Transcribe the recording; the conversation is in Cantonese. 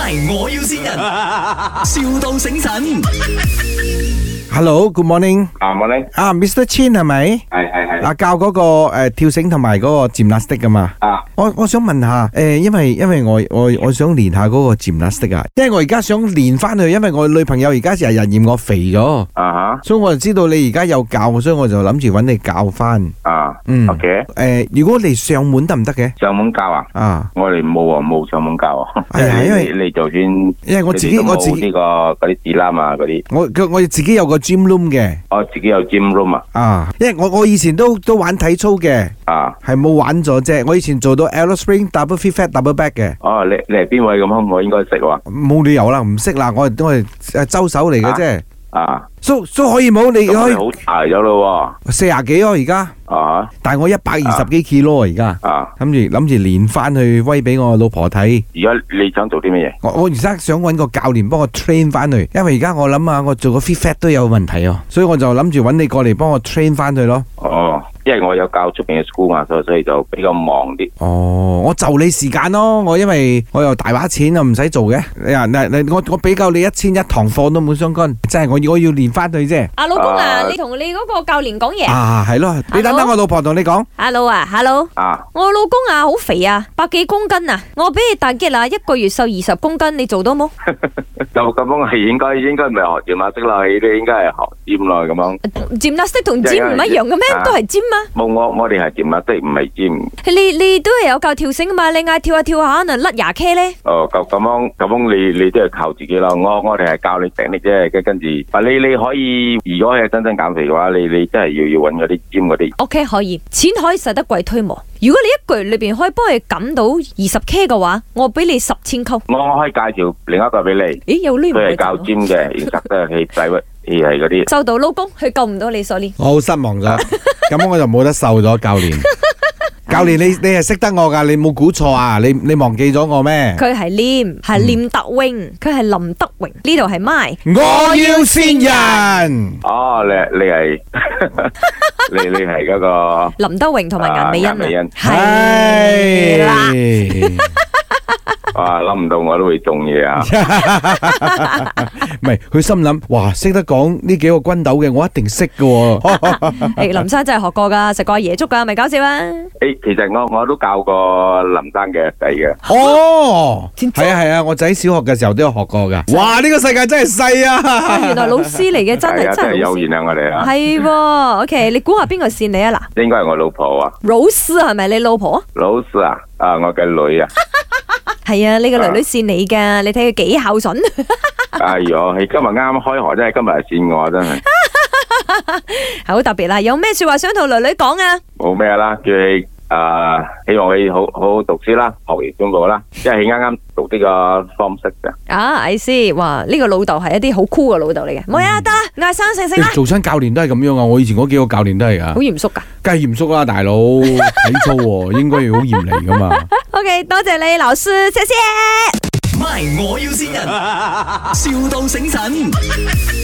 My 我要先人，,笑到醒神。 Hello，Good morning。 morning。 Mr. Chin 係咪？ 係。 教嗰個跳繩同埋嗰個 gymnastic 噶嘛？我想問下因為我想練下嗰個 gymnastic 啊，因為我而家想練翻去，因為我女朋友而家成日嫌我肥咗，所以我就知道你而家有教，所以我就諗住揾你教翻。 OK。 如果你上門得唔得嘅？ 上門教啊？我哋冇上門教啊。 因為你就算， 因為我自己呢個嗰啲指南啊嗰啲， 我自己有個 gym room 嘅。 自己有 gym room 啊？ 因為我以前都玩體操嘅。係冇玩咗啫。我以前做到 Aero Spring Double Free Fat Double Back 嘅。 你係邊位咁？我應該識喎。 冇理由啦，唔識啦，我係周手嚟嘅啫。So 可以冇？你可以好大咗咯喎。 40幾咯而家。但係我120幾 kilo 而家。諗住練翻去威俾我老婆睇。 而家你想做啲乜嘢？ 我而家想搵個教練幫我 train 翻去，因為而家我諗下我做個 free fat 都有問題啊，所以我就諗住搵你過嚟幫我 train 翻去咯。因為我有教出邊嘅 school 嘛，所以就比較忙啲。我就你時間咯，因為我又大把錢啊，唔使做嘅。我俾夠你1100堂課都冇相干，即係我要練翻去啫。 老公啊，你同你嗰個教練講嘢。 係咯，你等我老婆同你講。 Hello。我老公好肥啊，100幾公斤啊，我俾你大擊啦，1個月瘦20公斤，你做到冇？ 就咁樣係應該唔係學gymnastic啦，你應該係學 gym 咯咁樣。 gymnastic 同 gym 唔一樣嘅咩？都係 gym 啊。 冇，我哋係gymnastic，唔係 gym。 你都係有教跳繩嘛？你嗌跳下跳下，可能甩廿 K 咧。 咁樣你都係靠自己啦。我哋係教你technique啫，跟住，你可以，如果係真正減肥嘅話，你真係要搵嗰啲 gym 嗰啲。 OK， 可以，錢可以使得貴推磨。如果你一個月裏邊可以幫佢減到20 K 嘅話，我俾你10,000扣。我可以介紹另一個俾你。有呢？佢係教 gym 嘅，其實都係係嗰啲。收到，老公，佢救唔到你，sorry。我好失望咗，咁我就冇得瘦咗，教練。教練，你係識得我噶，你冇估錯啊？你忘記咗我咩？佢係廉德榮，佢係林德榮，呢度係 My 我要先人。 你係你係嗰個林德榮同埋顏美欣。 係啦。 諗唔到我都會中嘢啊！ 唔係，佢心諗，哇，識得講呢幾個軍斗嘅，我一定識㗎。 林生真係學過噶，食過阿爺粥噶，咪搞笑啊！ 其實我都教過林生嘅仔嘅。 係啊，我仔小學嘅時候都有學過噶。哇，呢個世界真係細啊！ 原來老師嚟嘅，真係有緣啊！我哋係，OK， 你估下邊個線你啊？嗱， 應該係我老婆啊。 老師係咪你老婆？ 老師啊，我嘅女啊。 係啊，你個女女線你噶，你睇佢幾孝順。 哎喲，係今日啱開學真係，今日係線我真係。 好特別啦，有咩說話想同女女講啊？ 冇咩啦，叫佢希望佢好好讀書啦，學業進步啦，因為佢啱啱讀呢個 form 6嘅。 I see， 哇，呢個老豆係一啲好酷嘅老豆嚟嘅。冇呀，得啦，嗌生性性啦。 做親教練都係咁樣啊，我以前嗰幾個教練都係啊。 好嚴肅噶？ 梗係嚴肅啦，大佬，體操應該要好嚴厲噶嘛。 OK， 多謝你老師，謝謝。 My 我要先人，笑到醒神。